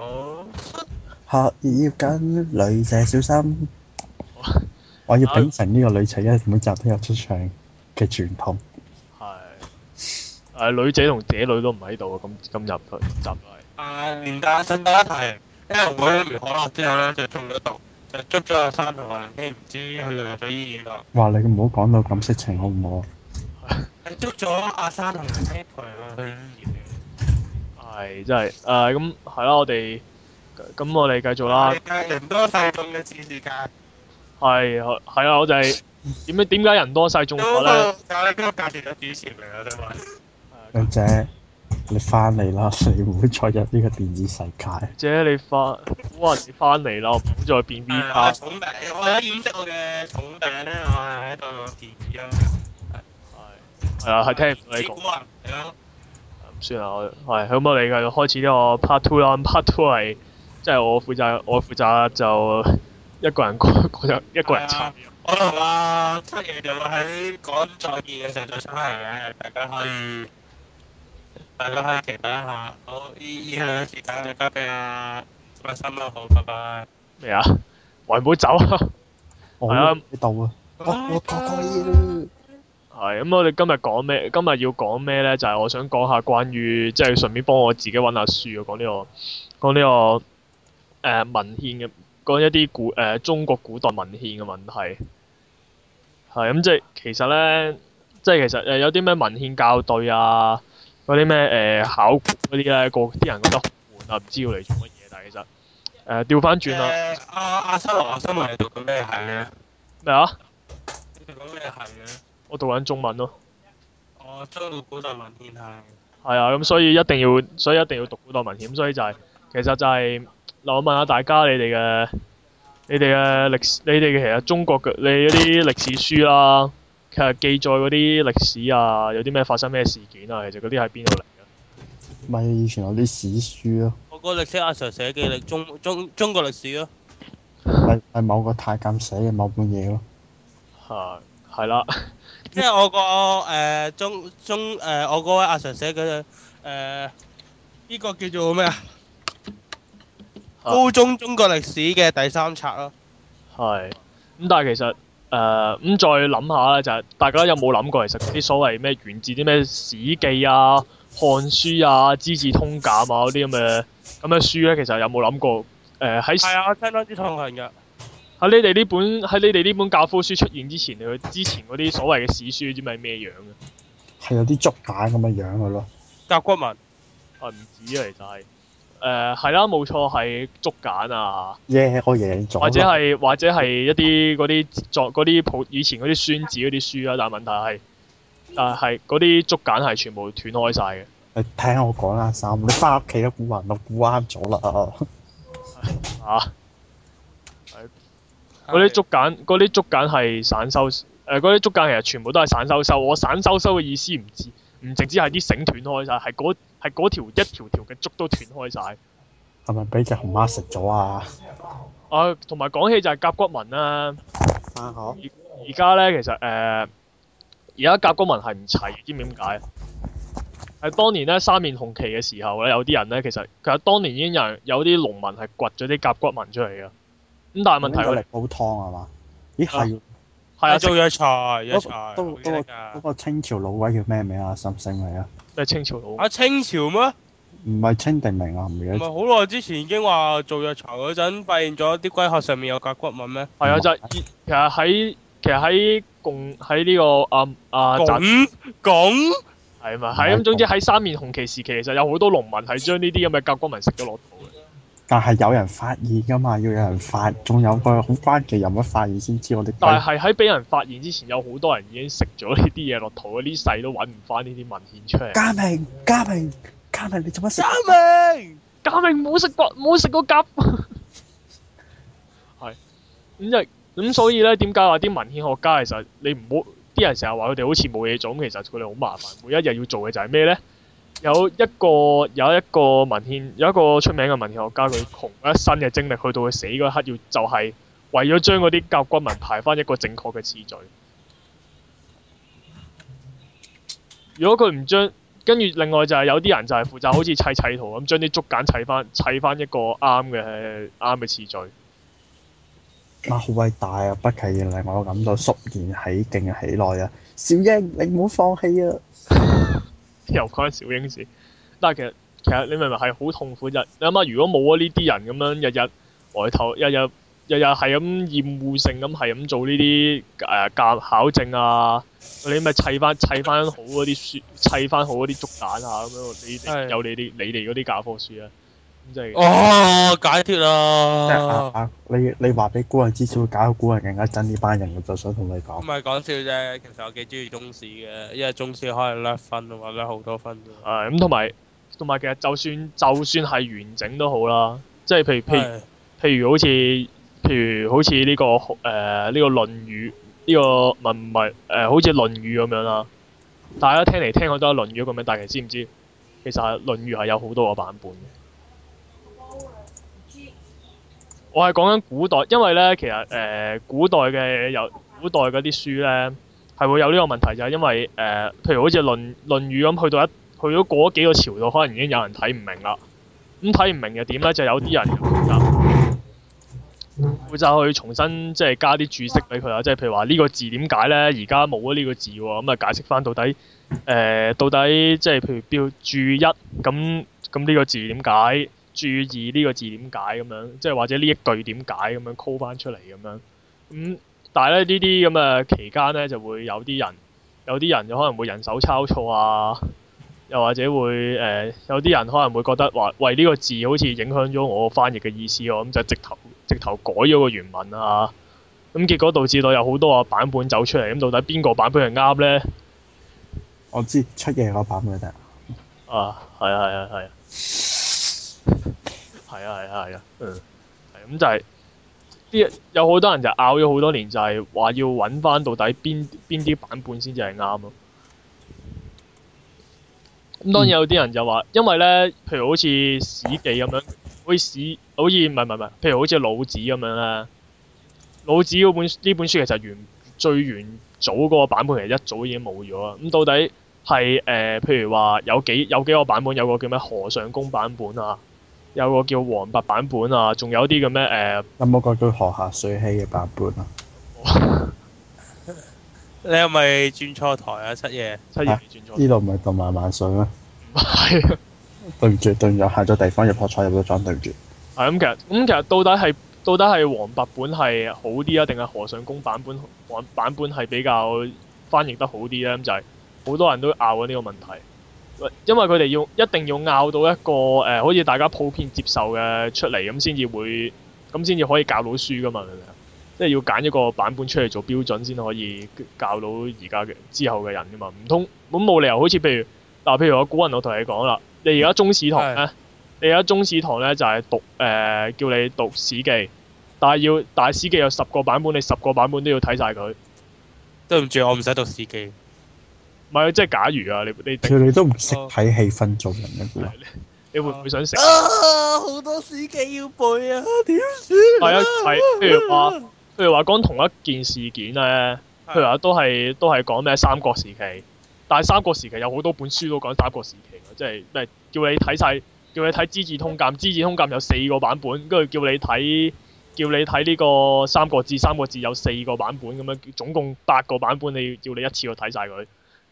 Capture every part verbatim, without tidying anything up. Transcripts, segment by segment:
好。 學業緊，女仔小心。我要秉承呢個女仔一每集都有出場嘅傳統。 係誒女仔同姐女都唔喺度啊！今今日今集都係。 啊，連帶順帶一提，因為我飲完可樂之後咧就中咗毒，就捉咗阿三同阿希，唔知佢哋入咗醫院啦。 哇！你唔好講到咁色情好唔好啊？ 係捉咗阿三同阿希陪我去醫院。 係真係誒咁係啦，我哋咁我哋繼續啦。 人多勢眾嘅次世界。 係係啊！我就係點解點解人多勢眾咗咧？ 就係今個價錢嘅主持嚟啊！真係。 女仔，你翻嚟啦！你唔會再入呢個電子世界。 姐你翻，哇！你翻嚟啦，唔好再變 V 卡。 重病，我而家掩飾我嘅重病咧，我係喺度電視啊。 係係啊，係聽唔到你講。 係咯。 咁算啦，我係咁我哋繼續開始呢個 part two 啦。part two 係即係我負責，我負責就一個人講講一個人參與。 我同阿七爺就喺講再見嘅時候再出嚟嘅，大家可以大家可以期待一下。好，以以下嘅時間就交俾阿阿心啦，好，拜拜。 咩啊？喂，唔好走啊！ 我喺度啊！我我過過嘢係咁，我哋今日講咩？今日要講咩咧？就係、是、我想講下關於即係順便幫我自己揾下書啊，講呢、這個講呢、這個誒、呃、文獻嘅，講一啲古誒、呃、中國古代文獻嘅問題。係咁、嗯，即係其實咧，即係其實誒有啲咩文獻校對啊，嗰啲咩誒考古嗰啲咧，個啲人覺得好悶啊，唔知要嚟做乜嘢。但係其實誒調翻轉啦。 誒阿阿新羅阿新羅，你讀緊咩系咧？ 咩啊？ 你讀緊咩系咧？ 我讀緊中文咯。 哦，中國古代文獻系。 係啊，咁所以一定要，所以一定要讀古代文獻，所以就係、是、其實就係、是、嗱，我問下大家，你哋嘅你哋嘅歷史，你哋嘅其實中國嘅你嗰啲歷史書啦，其實記載嗰啲歷史啊，有啲咩發生咩事件啊，其實嗰啲喺邊度嚟嘅？ 咪以前有啲史書咯。 我個歷史阿 Sir 寫嘅歷中中中國歷史咯。 係係某個太監寫嘅某本嘢咯。 係係啦。 即係我個誒中中誒我嗰位阿 Sir 寫嘅誒呢個叫做咩啊？高中中國歷史嘅第三冊咯。 係。咁但係其實誒咁、呃、再諗下咧，就係、是、大家有冇諗過其實啲所謂咩源自啲咩史記啊、漢書啊、資治通鑑啊嗰啲咁嘅咁嘅書咧，其實有冇諗過誒喺？係、呃、啊，我聽多啲痛恨㗎。喺你哋呢本喺你哋呢本教科書出現之前，你之前嗰啲所謂嘅史書，知唔知係咩樣嘅？ 係有啲竹簡咁嘅樣嘅咯。 甲骨文。啊，唔止啊，其實係誒係啦，冇錯係竹簡啊。 耶！我贏咗。或者係或者係一啲嗰啲作嗰啲普以前嗰啲孫子嗰啲書啊，但係問題係但係嗰啲竹簡係全部斷開晒嘅。 你聽我講啦，三，你翻屋企都估還到估啱咗啦。 啊！嗰啲竹簡，嗰啲竹簡係散收，誒嗰啲竹簡其實全部都係散收收。我散收收嘅意思唔止，唔淨止係啲繩斷開晒，係嗰係嗰條一條條嘅竹都斷開晒。 係咪俾隻熊貓食咗啊？ 啊，同埋講起就係甲骨文啦。 返學。而而家咧，其實誒，而、呃、家甲骨文係唔齊，知唔知點解？係當年咧三面紅旗嘅時候咧，有啲人咧其實其實當年已經有人有啲農民係掘咗啲甲骨文出嚟嘅。咁但係問題佢嚟煲湯係嘛？咦係。 係啊， 做藥材，藥材。 嗰個嗰個清朝老鬼叫咩名啊？心聲嚟啊！ 咩清朝老？ 啊清朝咩？ 唔係清定明啊？唔記得。 唔係好耐之前已經話做藥材嗰陣，發現咗啲龜殼上面有甲骨文咩？ 係啊，就係其實喺其實喺共喺呢個啊啊咁咁係嘛？係咁，總之喺三面紅旗時期，其實有好多農民係將呢啲咁嘅甲骨文食咗落肚嘅。 但係有人發現㗎嘛，要有人發，仲有個好關鍵人物發現先知我哋。 但係喺俾人發現之前，有好多人已經食咗呢啲嘢落肚，呢世都揾唔翻呢啲文獻出嚟。 嘉明，嘉明，嘉明，你做乜食？ 嘉明， 嘉明冇食過，冇食過甲。係咁就咁，所以咧點解話啲文獻學家其實你唔好啲人成日話佢哋好似冇嘢做，咁其實佢哋好麻煩，每一日要做嘅就係咩咧？有一個有一個文獻有一個出名嘅文獻學家，佢窮一生嘅精力，去到佢死嗰刻，要就係、是、為咗將嗰啲甲骨文排翻一個正確嘅次序。如果佢唔將跟住另外就係有啲人就係負責好似砌砌圖咁，將啲竹簡砌翻砌翻一個啱嘅啱嘅次序。 哇！好偉大啊！不期而令我感到肅然起敬嘅喜來啊！小英，你唔好放棄啊！ 又關小英事，但係其實其實你明唔明係好痛苦啫？你諗下，如果冇咗呢啲人咁樣日日外頭，日日日日係咁厭惡性咁係咁做呢啲誒教考證啊，你咪砌翻砌翻好嗰啲書，砌翻好嗰啲竹簡啊咁樣，你哋有你哋你哋嗰啲教科書啊，咁即係哦，解脫即係啦！ 啊啊！你你話俾古人知，只會搞到古人更加憎呢班人，我就想同你唔講。 係講笑啫，其實我幾中意中史嘅，因為中史可以甩分啊嘛，甩好多分㗎。 誒咁同埋同埋其實就算就算係完整都好啦，即係譬如譬如係譬如好似譬如好似呢、個誒呢、個《論語》呢、個唔係唔係誒好似《論語》咁樣啦，大家聽嚟聽去都係《論語》咁樣，但係其實知唔知其實係《論語》係有好多個版本嘅。我係講緊古代，因為咧其實誒、呃、古代嘅有古代嗰啲書咧係會有呢個問題，就係因為誒、呃、譬如好似《論論語》咁，去到一去咗過咗幾個朝代，可能已經有人睇唔明啦。咁睇唔明又點咧？就有啲人就負責負責去重新即係加啲注釋俾佢啦，即係譬如話呢個字點解咧？而家冇咗呢個字喎，咁啊解釋翻到底誒、呃、到底即係譬如標注一咁咁呢個字點解？注意呢個字點解咁樣，即係或者呢一句點解咁樣 call 翻出嚟咁樣。咁、嗯、但係咧呢啲咁嘅期間咧，就會有啲人有啲人就可能會人手抄錯啊，又或者會誒、呃、有啲人可能會覺得話喂呢、呢個字好似影響咗我翻譯嘅意思喎，咁就直頭直頭改咗個原文啊。咁結果導致到有好多個版本走出嚟，咁到底邊個版本係啱咧？ 我知出嘢嗰版本得。 啊，係啊，係啊，係啊。係啊係啊係啊，嗯，係咁就係啲有好多人就拗咗好多年，就係話要揾翻到底邊邊啲版本先至係啱咯。咁當然有啲人就話，因為咧，譬如好似《史記》咁樣，好似史，好似唔係唔係唔係，譬如好似《老子》咁樣咧，《老子》嗰本呢本書其實原最原早嗰個版本其實一早已經冇咗啦。咁到底係誒、呃，譬如話有幾有幾個版本，有個叫咩河上宮版本啊？有個叫黃白版本啊，仲有啲嘅咩誒？ 有冇個叫河下水希嘅版本啊？ 你係咪轉錯台啊？七爺， 七爺你轉錯。 呢度唔係動漫萬歲咩？ 唔係啊。 對唔住，對唔住，下咗地方入學菜入咗莊，對唔住。 係咁，其實咁其實到底係到底係黃白本係好啲啊，定係河上宮版本黃版本係比較翻譯得好啲咧？咁就係、是、好多人都拗緊呢個問題。因為佢哋要一定要拗到一個誒、呃，好似大家普遍接受嘅出嚟，咁先至會，咁先至可以教到書噶嘛，明唔明啊？即係要揀一個版本出嚟做標準，先可以教到而家嘅之後嘅人噶嘛。唔通咁冇理由，好似譬如嗱，譬如我古人，我同你講啦，你而家中史堂咧，你而家中史堂咧就係、是、讀誒、呃，叫你讀史記，但係要但係史記有十個版本，你十個版本都要睇晒佢。 對唔住，我唔使讀史記。 唔係，即係假如啊，你你佢哋都唔識睇氣氛做人嘅喎。 你會唔會想食？ 啊！好多史記要背啊，點算？ 係啊，係。譬如話，譬如話講同一件事件咧，譬如話都係都係講咩三國時期，但係三國時期有好多本書都講三國時期嘅，即係咩叫你睇晒，叫你睇《資治通鑑》，《資治通鑑》有四個版本，跟住叫你睇叫你睇呢個《三國志》，《三國志》有四個版本咁樣，總共八個版本，你叫你一次過睇晒佢。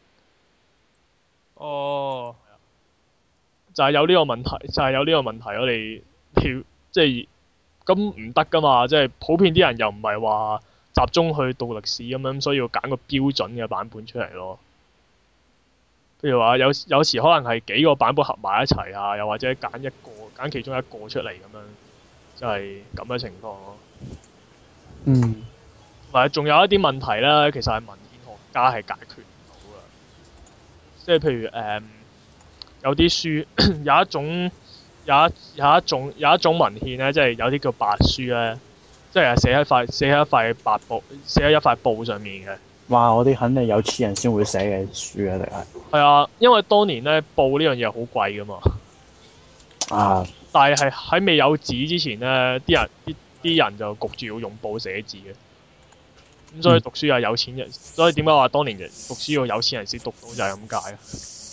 哦， 就係有呢個問題，就係、是、有呢個問題，我哋要即係咁唔得噶嘛，即係普遍啲人又唔係話集中去讀歷史咁樣，所以要揀個標準嘅版本出嚟咯。譬如話有有時可能係幾個版本合埋一齊啊，又或者揀一個揀其中一個出嚟咁樣，就係咁嘅情況咯。 嗯。 同埋仲有一啲問題咧，其實係文獻學家係解決唔到嘅。即係譬如誒、嗯，有啲書有一種有一有一種有一種文獻咧，即係有啲叫白書咧，即係寫喺塊寫喺一塊白布寫喺一塊布上面嘅。 哇！嗰啲肯定有錢人先會寫嘅書啊，定係？ 係啊，因為當年咧布呢樣嘢好貴㗎嘛。 啊！ 但係係喺未有紙之前咧，啲人啲啲人就焗住要用布寫字嘅。咁所以讀書係有錢人，嗯、所以點解話當年人讀書要有錢人先讀到就係咁解啊？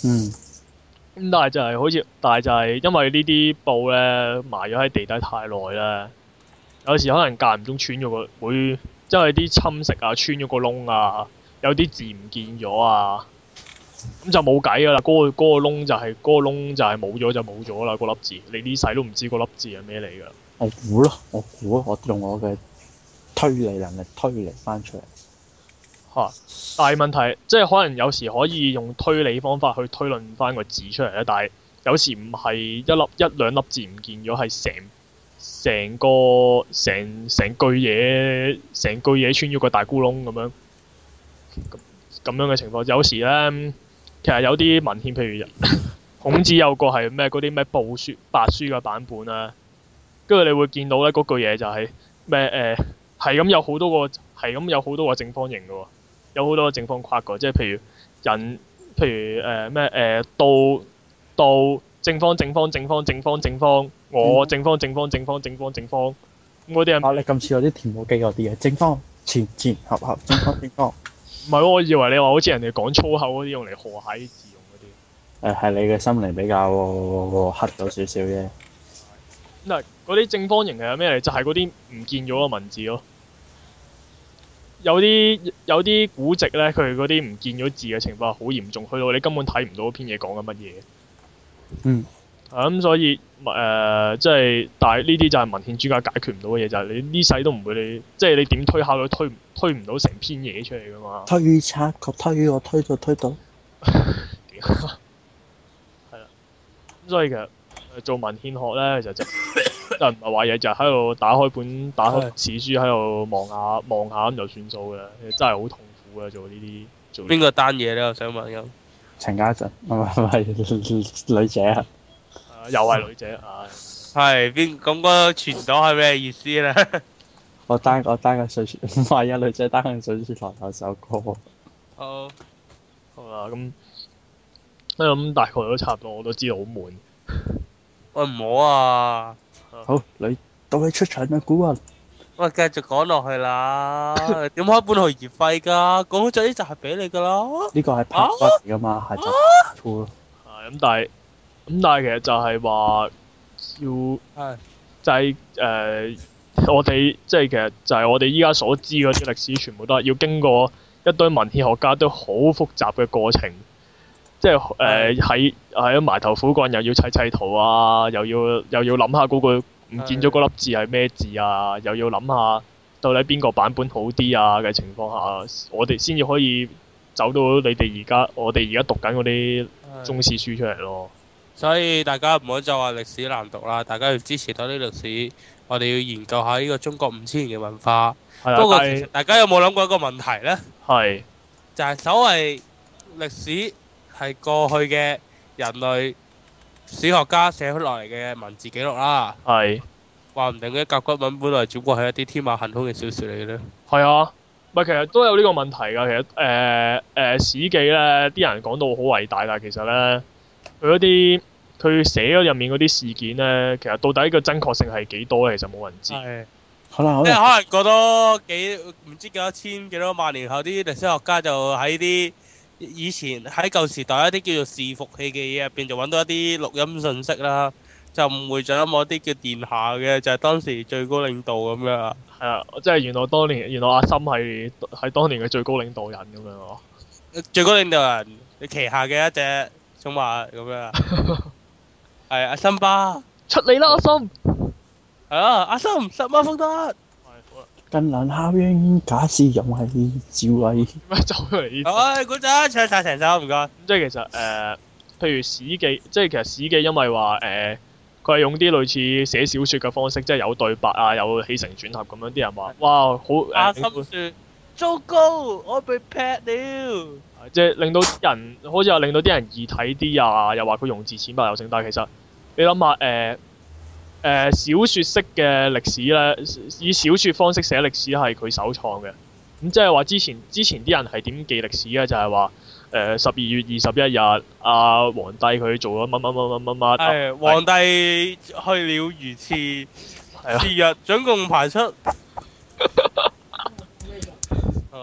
嗯。 咁但係就係好似，但係就係因為呢啲布咧埋咗喺地底太耐咧，有時可能間唔中穿咗個會，即係啲侵蝕啊，穿咗個窿啊，有啲字唔見咗啊，咁就冇計㗎啦。嗰、個嗰、個窿就係、嗰、個窿就係冇咗就冇咗啦，嗰粒字你呢世都唔知嗰粒字係咩嚟㗎。 我估咯，我估我用我嘅推理能力推理翻出嚟。 嚇！但係問題即係可能有時可以用推理方法去推論翻個字出嚟咧，但係有時唔係一粒一兩粒字唔見咗，係成成個成成句嘢成句嘢穿咗個大咕窿咁樣咁咁樣嘅情況。有時咧，其實有啲文獻，譬如孔子有個係咩嗰啲咩報書白書嘅版本啦，跟住你會見到咧嗰句嘢就係咩誒係咁有好多個係咁有好多個正方形嘅喎。有好多正方框㗎，即係譬如人，譬如誒咩誒到到正方正方正方正方正方，我正方正方正方正方正方，咁嗰啲係啊！你咁似有啲田母機嗰啲嘅正方前前合合正方正方。 唔係喎？我以為你話好似人哋講粗口嗰啲用嚟賀諧啲字用嗰啲。 誒係你嘅心靈比較黑咗少少啫。 嗱，嗰啲正方形係咩嚟？就係嗰啲唔見咗嘅文字咯。有啲有啲古籍咧，佢嗰啲唔見咗字嘅情況係好嚴重，去到你根本睇唔到篇嘢講緊乜嘢。 嗯。 啊咁、所以誒、呃，即係，但係呢啲就係文獻專家解決唔到嘅嘢，就係、是、你呢世都唔會你，即係你點推敲都推推唔到成篇嘢出嚟噶嘛。 推測個推我推到推到。 係啦。咁所以其實做文獻學咧，就就就唔係話嘢，就喺度打開本打開史書喺度望下望下咁就算數嘅，真係好痛苦嘅做呢啲做。 邊個單嘢咧？我想問咁。 陳家俊，唔係唔係女姐啊！ 又係女仔，唉。 係邊咁嗰個傳到係咩意思咧？ 我單我單個水書，唔係啊！女仔單個水書台有首歌。 好。 好啦，咁咁大概都差唔多，我都知道好悶。 喂唔好啊！ 好，你到你出場啦，古雲。 喂，繼續講落去啦。點開本去熱費㗎？講咗呢就係俾你㗎啦。 呢個係 part one 嚟㗎嘛，係就 part two 咯。 係咁，但係咁，但係其實就係話要係就係、誒、我哋即係其實就係我哋依家所知嗰啲歷史，全部都係要經過一堆文獻學家都好複雜嘅過程，即係誒喺喺埋頭苦幹，又要砌砌圖啊，又要又要諗下嗰個唔見咗嗰粒字係咩字啊，又要諗下到底邊個版本好啲啊嘅情況下，我哋先至可以走到你哋而家我哋而家讀緊嗰啲中史書出嚟咯。 所以大家唔好再話歷史難讀啦，大家要支持多啲歷史，我哋要研究下呢個中國五千年嘅文化。不過其實大家有冇諗過一個問題呢？ 係就係所謂歷史係過去嘅人類史學家寫落嚟嘅文字記錄啦。 係話唔定嘅甲骨文本來只不過係一啲天馬行空嘅小説嚟嘅咧。 係啊，唔係其實都有呢個問題㗎。其實誒誒、呃呃、史記咧，啲人講到好偉大，但係其實咧佢嗰啲佢寫咗入面嗰啲事件咧，其實到底個真確性係幾多咧？其實冇人知。 係。 好啦好即係啦。 可能過多幾唔知幾多千幾多萬年後，啲歷史學家就喺啲以前喺舊時代一啲叫做伺服器嘅嘢入邊，就揾到一啲錄音信息啦，就誤會咗某啲叫殿下嘅，就係當時最高領導咁樣。 係啊，即係原來當年原來阿森係係當年嘅最高領導人咁樣喎。 最高領導人你旗下嘅一隻寵物咁樣。係阿森巴。 出嚟啦，阿森！ 係啊，阿森十萬福德。 近鄰效應，假使用係智慧。 點解走出嚟呢？ 唉，鼓掌，唱晒成首唔該。 咁即係其實誒、呃，譬如史記，即係其實史記因為話誒，佢、呃、係用啲類似寫小説嘅方式，即係有對白啊，有起承轉合咁樣，啲人話哇好誒。 阿森説：糟糕，我被劈了。 即係令到啲人好似話令到啲人易睇啲啊，又話佢用字淺白有聲，但係其實你諗下誒誒小説式嘅歷史咧，以小説方式寫歷史係佢首創嘅。咁即係話之前之前啲人係點記歷史嘅？就係話誒十二月二十一日，阿皇帝佢做咗乜乜乜乜乜乜。 係皇帝去了如廁， 係啊， 次日總共排出。好。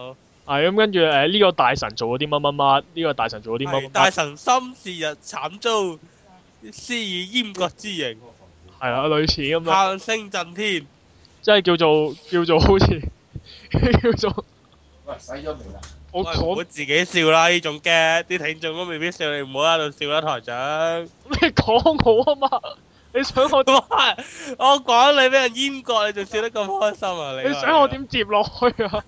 係咁跟住誒呢個大臣做咗啲乜乜乜，呢個大臣做咗啲乜乜乜。 大臣心是日慘遭，施以閹割之刑。 係啦，類似咁樣。 喊聲震天。 即係叫做叫做好似叫做。 喂，洗咗未啦？ 我唔好自己笑啦，呢種嘅啲聽眾都未必笑，你唔好喺度笑啦，台長。 你講我啊嘛？你想我？ 我講你俾人閹割，你仲笑得咁開心啊？你你想我點接落去啊？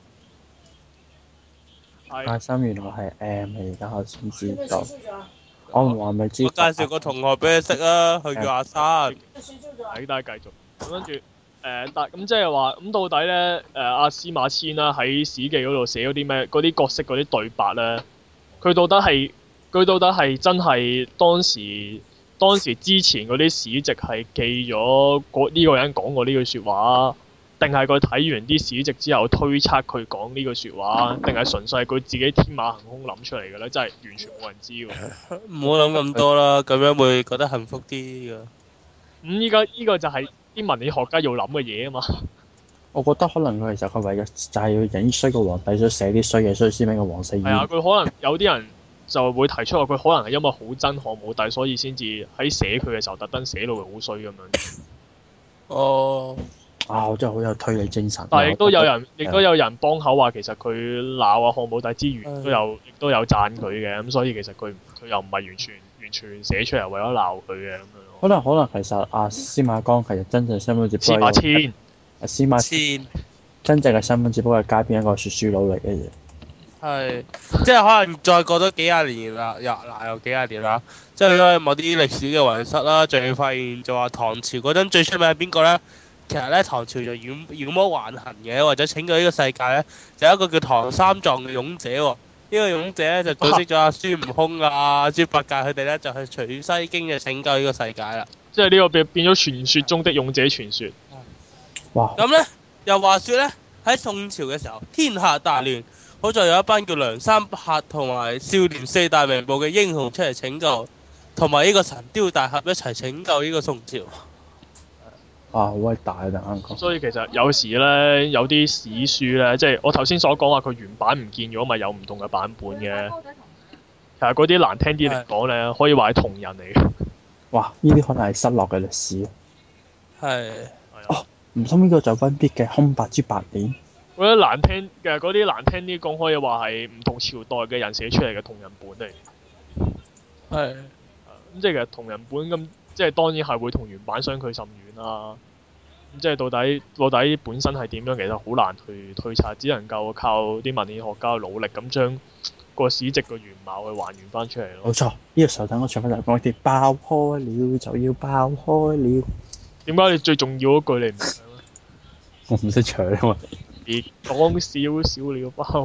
阿三原來係 M，而家我先知道。我唔話咪知。 我介紹個同學俾你識啊，佢叫阿山。 係，大家繼續。咁跟住誒，但咁即係話，咁到底咧誒阿司馬遷啦喺史記嗰度寫嗰啲咩嗰啲角色嗰啲對白咧，佢到底係佢到底係真係當時當時之前嗰啲史籍係記咗嗰呢個人講過呢句説話？定係佢睇完啲史籍之後推測佢講呢句説話，定係純粹係佢自己天馬行空諗出嚟嘅咧？真係完全冇人知喎。 唔好諗咁多啦，咁樣會覺得幸福啲㗎。 咁依家依個就係啲文理學家要諗嘅嘢啊嘛。 我覺得可能佢其實佢為咗就係要影衰個皇帝，想寫啲衰嘢，所以先俾個皇室閹。 係啊，佢可能有啲人就會提出話，佢可能係因為好憎漢武帝，所以先至喺寫佢嘅時候特登寫到佢好衰咁樣。 哦。 啊！我真係好有推理精神。 但係亦都有人，亦都有人幫口話，其實佢鬧啊漢武帝之餘，都有亦都有讚佢嘅，咁所以其實佢佢又唔係完全完全寫出嚟為咗鬧佢嘅咁樣。 可能可能其實阿司馬光其實真正身份只不司過馬遷， 阿司馬遷真正嘅身份只不過係街邊一個説書佬嚟嘅啫。 係，即係可能再過多幾廿年啦，又嗱又幾廿年啦，即係因為某啲歷史嘅遺失啦，仲要發現就話唐朝嗰陣最出名係邊個咧？其實咧，唐朝就妖妖魔橫行嘅，或者拯救呢個世界咧，就有一個叫唐三藏嘅勇者喎、哦。呢、這個勇者咧就組織咗阿孫悟空啊、豬八戒佢哋咧，就去取西經就拯救呢個世界啦。 即係呢個變變咗傳說中的勇者傳說。 哇！ 咁咧又話說咧，喺宋朝嘅時候，天下大亂，好在有一班叫梁山泊同埋少年四大名捕嘅英雄出嚟拯救，同埋呢個神雕大俠一齊拯救呢個宋朝。 啊，好偉大啊！突然間講。 所以其實有時咧，有啲史書咧，即係我頭先所講話佢原版唔見咗，咪有唔同嘅版本嘅。其實嗰啲難聽啲嚟講咧，可以話係同人嚟嘅。 哇！呢啲可能係失落嘅歷史。 係。 哦，唔通呢個就溫必嘅空白之百年？ 我覺得難聽嘅嗰啲難聽啲講，可以話係唔同朝代嘅人寫出嚟嘅同人本嚟。 係。 咁即係其實同人本咁。即係當然係會同原版相距甚遠啦。咁即係到底到底本身係點樣，其實好難去推測，只能夠靠啲文獻學家努力咁將個史籍嘅原貌去還原翻出嚟咯。 冇錯，呢、這個時候等我唱翻就講啲爆開了就要爆開了。點解你最重要嗰句你唔唱咧？ 我唔識唱啊嘛。 別講少少了爆。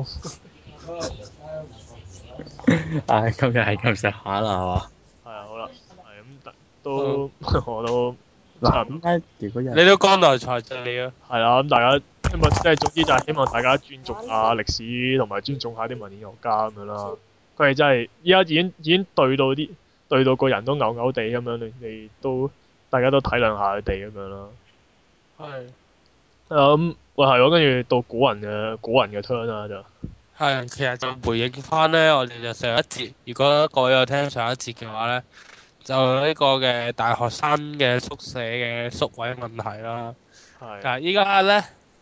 唉、哎，今日係咁上下啦，係嘛？ 係啊，好啦。都我都嗱，點解如果有你都江郎才盡了。 係啦，咁大家希望即係總之就係希望大家尊重下歷史，同埋尊重下啲文獻學家咁樣啦。佢哋真係依家已經已經對到啲對到個人都嘔嘔地咁樣，你你都大家都體諒下佢哋咁樣啦。 係。 咁喂係喎，跟住到古人嘅古人嘅 turn 啦就。 係，其實就回應翻咧，我哋就上一節，如果各位有聽上一節嘅話咧。就呢個嘅大學生嘅宿舍嘅宿位問題啦。係。但係依家咧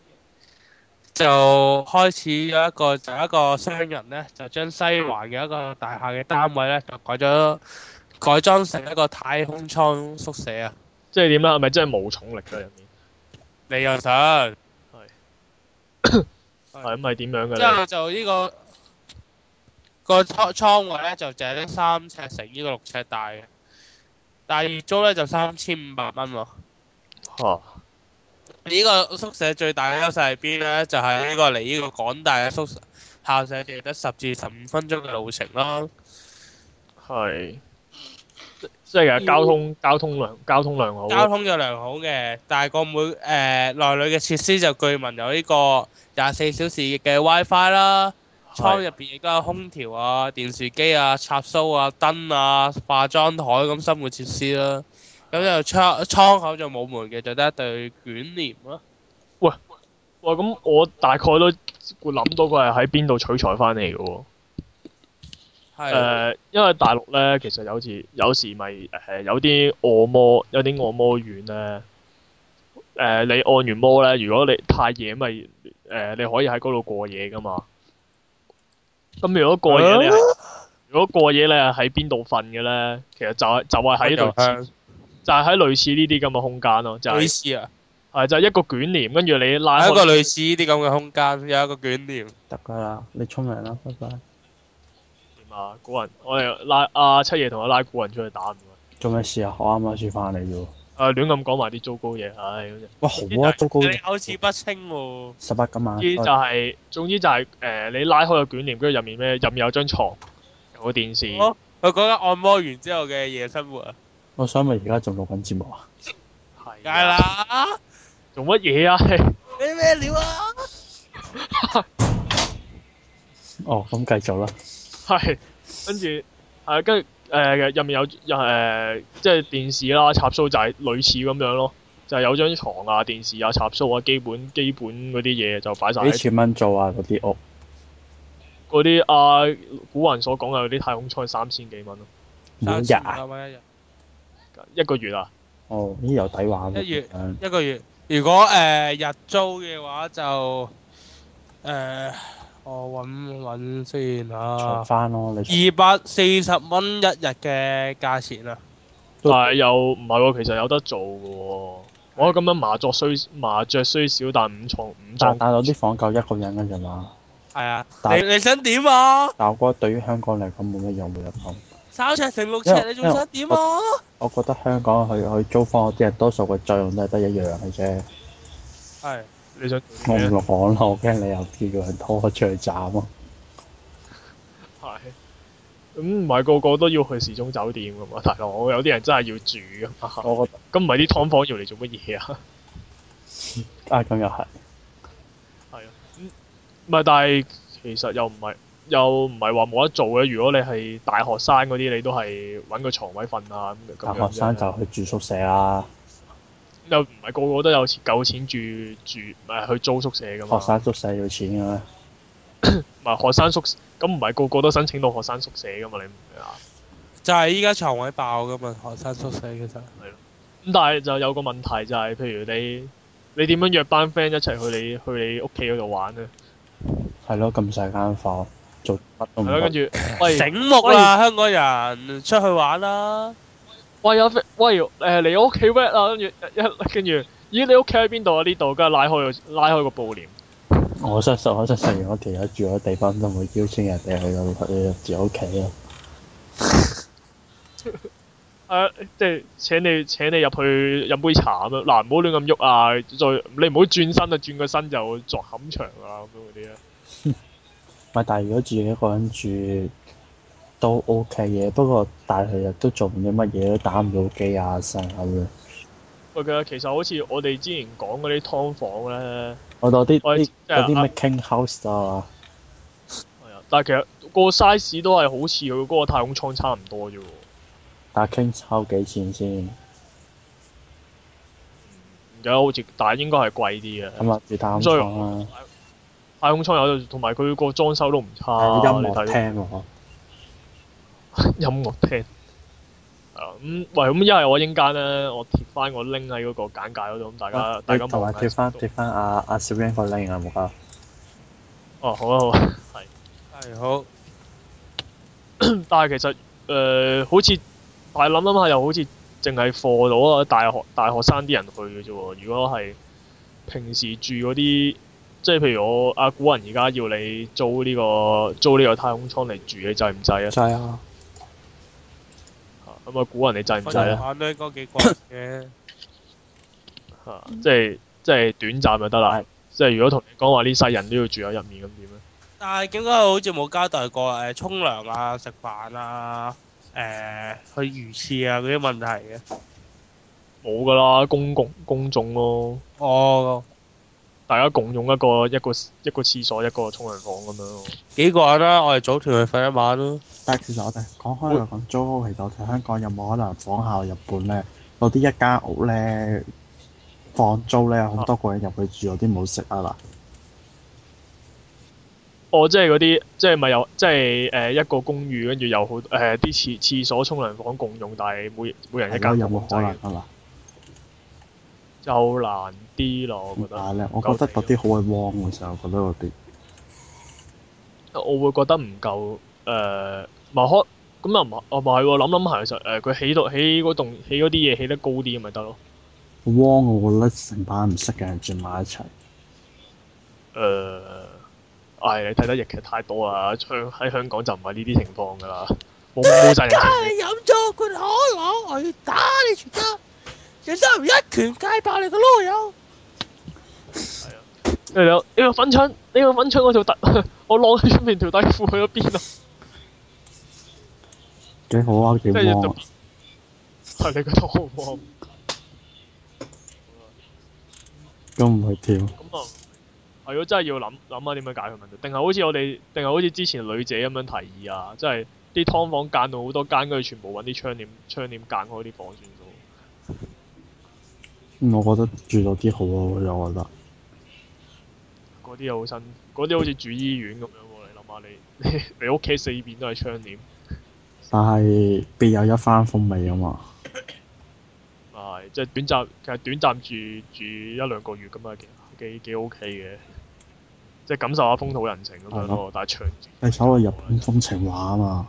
就開始有一個就一個商人咧，就將西環嘅一個大廈嘅單位咧，就改咗改裝成一個太空艙宿舍啊！ 即係點咧？係咪真係冇重力嘅入面？ 你又想？係。 係咁係點樣嘅咧？ 之後就呢、呢個、個倉倉位咧，就淨係得三尺乘呢個六尺大嘅。但係月租咧就三千五百蚊喎。 嚇！ 呢個宿舍最大嘅優勢係邊咧？就係、是、呢個離呢個廣大嘅宿舍校舍只得十至十五分鐘嘅路程啦。 係。即係其實交通交通良交通良好。 交通就良好嘅，但係個每誒、呃、內裏嘅設施就據聞有呢個廿四小時嘅 WiFi 啦。倉入邊亦都有空調啊、電視機啊、插蘇啊、燈啊、化妝台咁生活設施啦。咁就窗倉口就冇門嘅，就得一對捲簾咯。 喂喂，咁我大概都知會諗到佢係喺邊度取材翻嚟嘅喎。 係誒，因為大陸咧，其實有時有時咪誒有啲按摩有啲按摩院咧，誒、你按完摩咧，如果你太夜咪誒、你可以喺嗰度過夜噶嘛。咁如果過夜你係、如果過夜你係喺邊度瞓嘅咧，其實就係、就係、喺類似就係喺類似呢啲咁嘅空間咯，就係、 類似啊， 係就係一個捲簾，跟住你拉開喺一個類似呢啲咁嘅空間，有一個捲簾。 得㗎啦，你沖涼啦，拜拜。 點啊？古人，我哋拉阿、七爺同我拉古人出去打唔該。 做咩事啊？我啱啱先翻嚟啫喎。 誒亂咁講埋啲糟糕嘢，唉嗰隻。 哇，好啊，糟糕！ 你口齒不清喎。 十八今晚。 總之就係、總之就係、誒、你拉開個捲簾，跟住入面咩？入面有張床，有個電視。 哦佢講緊按摩完之後嘅夜生活啊， 我想問而家仲錄緊節目啊？ 係梗係啦， 做乜嘢啊？ 你咩料啊？ 哦，咁繼續啦。 係跟住係跟住誒入面有有誒即係電視啦、插蘇就係類似咁樣咯，就係、有張床啊、電視啊、插蘇啊，基本基本嗰啲嘢就擺晒幾喺錢蚊做啊？嗰啲屋嗰啲啊古人所講嘅嗰啲太空艙三千幾蚊咯， 每日啊？ 三千五百蚊一日， 一個月啊。 哦，呢有抵玩喎。 一月嗯一個月。如果誒、呃日租嘅話就誒、呃我揾揾先重啊， 翻咯，你二百四十蚊一日嘅價錢啊！ 但係又唔係喎，其實有得做嘅喎。我覺得咁樣麻雀雖麻雀雖少，但五床五床但但有啲房夠一個人嘅啫嘛。 係啊， 但你你想點啊？ 但我覺得對於香港嚟講冇乜用冇得講。 三尺乘六尺因為， 你仲想點啊？ 我覺得香港去去租房嗰啲人多數個作用都係得一樣嘅啫。 係你想我唔做啲咩？ 講啦，我驚你又叫人拖我出去斬咯。 係咁唔係個個都要去時鐘酒店㗎嘛，大佬有啲人真係要住㗎嘛。 我覺咁唔係啲劏房要嚟做乜嘢啊？ 得啊，咁又係。 係啊，嗯唔係，但係其實又唔係又唔係話冇得做嘅。如果你係大學生嗰啲，你都係揾個床位瞓啊咁咁樣大學生啫就去住宿舍啦， 又唔係個個都有錢夠錢住住唔係去租宿舍㗎嘛。 學生宿舍要錢嘅咩？ 唔係學生宿舍，咁唔係個個都申請到學生宿舍㗎嘛？你唔明啊？ 就係依家床位爆噶嘛，學生宿舍其實。 咁但係就有個問題就係、譬如你你點樣約班 friend 一齊去你去你屋企嗰度玩咧？ 係咯，咁細間房做乜都唔係咯，跟得。 住喂醒目啦，香港人出去玩啦。 喂有 friend 喂誒嚟我屋企 wet 啊，跟住一跟住咦你屋企喺邊度啊？呢度，跟住拉開個拉開個布簾。 我相信我相信，如果條友住嗰地方都唔會邀請人哋去到去住屋企咯。 誒、啊即係請你請你入去飲杯茶咁樣，嗱唔好亂咁喐啊！再你唔好轉身啊，轉個身就作冚牆啊咁樣嗰啲咧。 唔係，但係如果自己一個人住都 OK 嘅，不過但係日都做唔到乜嘢，都打唔到機啊，成咁樣。 喂，其實其實好似我哋之前講嗰啲劏房咧， 我到啲我啲有啲即係啊咩 King House 啊， 係啊，但係其實個 size 都係好似佢嗰個太空艙差唔多啫喎。 但係 King House 幾錢先？ 唔記得好似，但係應該係貴啲嘅。 咁啊，住太空所以艙啦， 太空艙有，同埋佢個裝修都唔差。 有音樂你睇廳喎。 音樂廳。係啊，咁喂，咁一係我應間咧，我貼翻個 link 喺嗰個簡介嗰度，咁大家大家同埋望下貼翻貼翻阿阿小英個 link 啊，冇啊。 哦，好啊好啊，係。 係好。 但係其實誒、呃好似，但係諗諗下又好似淨係課到啊大學大學生啲人去嘅啫喎。如果係平時住嗰啲，即係譬如我阿古人而家要你租呢、個租呢個太空艙嚟住，你制唔制啊？ 就係啊， 咁啊，古人你制唔制啊？ 玩都應該幾貴嘅。 嚇即係即係短暫就得啦。即係如果同你講話呢世人都要住喺入面，咁點咧？ 但係點解好似冇交代過誒沖涼啊、食飯啊、誒、去魚翅啊嗰啲問題嘅？ 冇㗎啦，公共公眾咯， 哦， 大家共用一個一個一個廁所一個沖涼房咁樣咯。 幾個人啦，我哋組團去瞓一晚咯。 但係其實我哋講開又講租屋，其實我哋香港有冇可能仿效日本咧？有啲一間屋咧放租咧，好多個人入去住，有啲冇食啊嗱。 哦，即係嗰啲，即係咪有，即係誒、呃、一個公寓，跟住有好誒啲廁廁所、沖涼房共用，但係每每人一間有冇可房仔能啊？ 就難啲咯，我覺得。 點解咧？我覺得嗰啲好鬼汪嘅時候，我覺得嗰啲。 我會覺得唔夠誒，咪開咁又唔係，哦唔係喎，諗諗下其實誒佢起到起嗰棟起嗰啲嘢起得高啲咪得咯。 汪，我覺得成班唔識嘅人住埋一齊。 誒，唉，你睇得日劇太多啦，香喺香港就唔係呢啲情況㗎啦，冇冇曬人情味。 飲咗罐可樂，我要打你全家，然之後一拳解爆你個囉柚。 係啊，你有呢個粉腸，呢個粉腸我條底，我晾喺出面條底褲去咗邊啊？ 幾好啊！幾即係汪啊！ 係你覺得好唔好？ 都唔去跳。 咁啊，係咯，真係要諗諗下點樣解決問題，定係好似我哋，定係好似之前女姐咁樣提議啊，即係啲劏房間到好多間，跟住全部揾啲窗簾窗簾間開啲房算數。 嗯我覺得住到啲好啊，我覺得。 嗰啲又好新，嗰啲好似住醫院咁樣喎。你諗下你你你屋企四邊都係窗簾， 但係別有一番風味啊嘛。 係即係短暫，其實短暫住住一兩個月咁啊，幾幾幾 OK 嘅，即係感受下風土人情咁樣咯。但係長住係所謂日本風情畫啊嘛。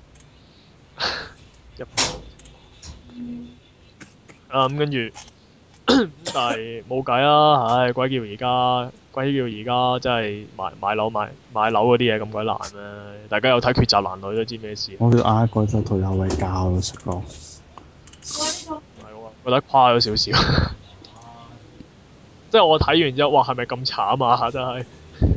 一啊咁跟住，但係冇計啦，唉，鬼叫而家鬼叫而家真係買買樓買買樓嗰啲嘢咁鬼難咩？大家有睇《抉擇男女》都知咩事。 我叫嗌嗰陣退休位教咯，實講。 唔係喎，覺得誇咗少少。即係我睇完之後，哇，係咪咁慘啊？真係，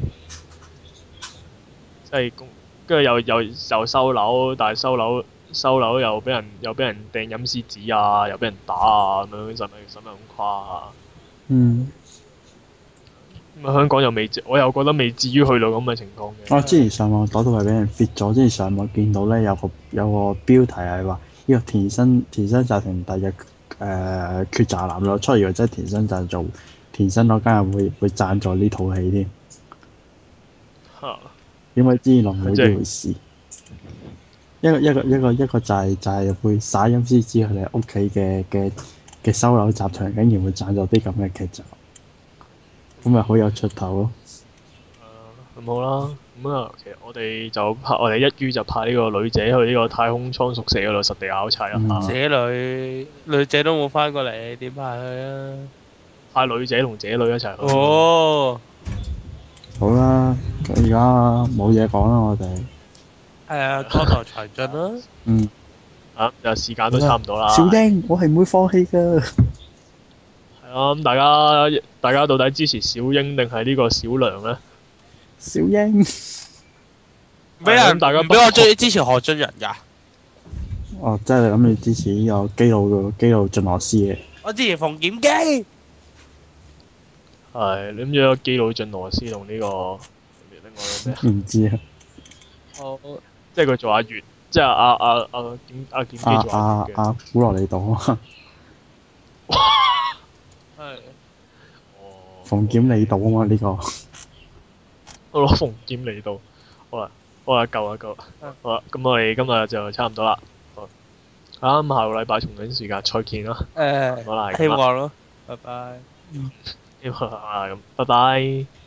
即係跟住又又又收樓，但係收樓收樓又俾人又俾人掟陰司紙啊，又俾人打啊，咁樣使咪使咪咁誇啊？ 嗯。 咁啊，香港又未至，我又覺得未至於去到咁嘅情況嘅。 我之前上網嗰度係俾人 fit 咗，之前上網見到咧有個有個標題係話呢個田生田生集團第日誒抉擇男女出嚟，或者田生贊助田生嗰間人會會贊助呢套戲添。 嚇！ 點解之前落冇呢回事？一個一個一個一個就係、就係、會撒陰司紙佢哋屋企嘅嘅嘅收樓集團，竟然會贊助啲咁嘅劇集，咁咪好有出頭咯。 誒咁好啦，咁啊，其實我哋就派我哋一於就派呢個女仔去呢個太空艙宿舍嗰度實地考察一下。 嗯姐女女仔都冇翻過嚟，點派佢啊？ 派女仔同姐女一齊去。 哦， 好啦，而家冇嘢講啦，我哋。 係啊，江河才盡啦。 嗯。 啊，就時間都差唔多啦。 小英，我係唔會放棄㗎。 係啊，咁大家大家到底支持小英定係呢個小梁咧？ 小英。 俾人大家唔俾我追支持何俊仁㗎。 哦，即係你諗住支持呢個基佬嘅基佬進羅斯嘅。 我支持馮檢基。 係，你諗住個基佬進羅斯同呢個另外個咩？ 唔知啊。 哦， 即係佢做阿月，即係阿阿阿檢阿檢基阿做阿阿月嘅。 阿古羅里島啊， 係。 哦。 馮檢里島啊嘛呢個。 我攞馮檢嚟到，好啦，好啦，夠啦夠啦，好啦，咁我哋今日就差唔多啦。好，咁下個禮拜同樣時間再見啦。 誒， 好啦，係咁啦希望咯，拜拜。 希望啊咁，拜拜。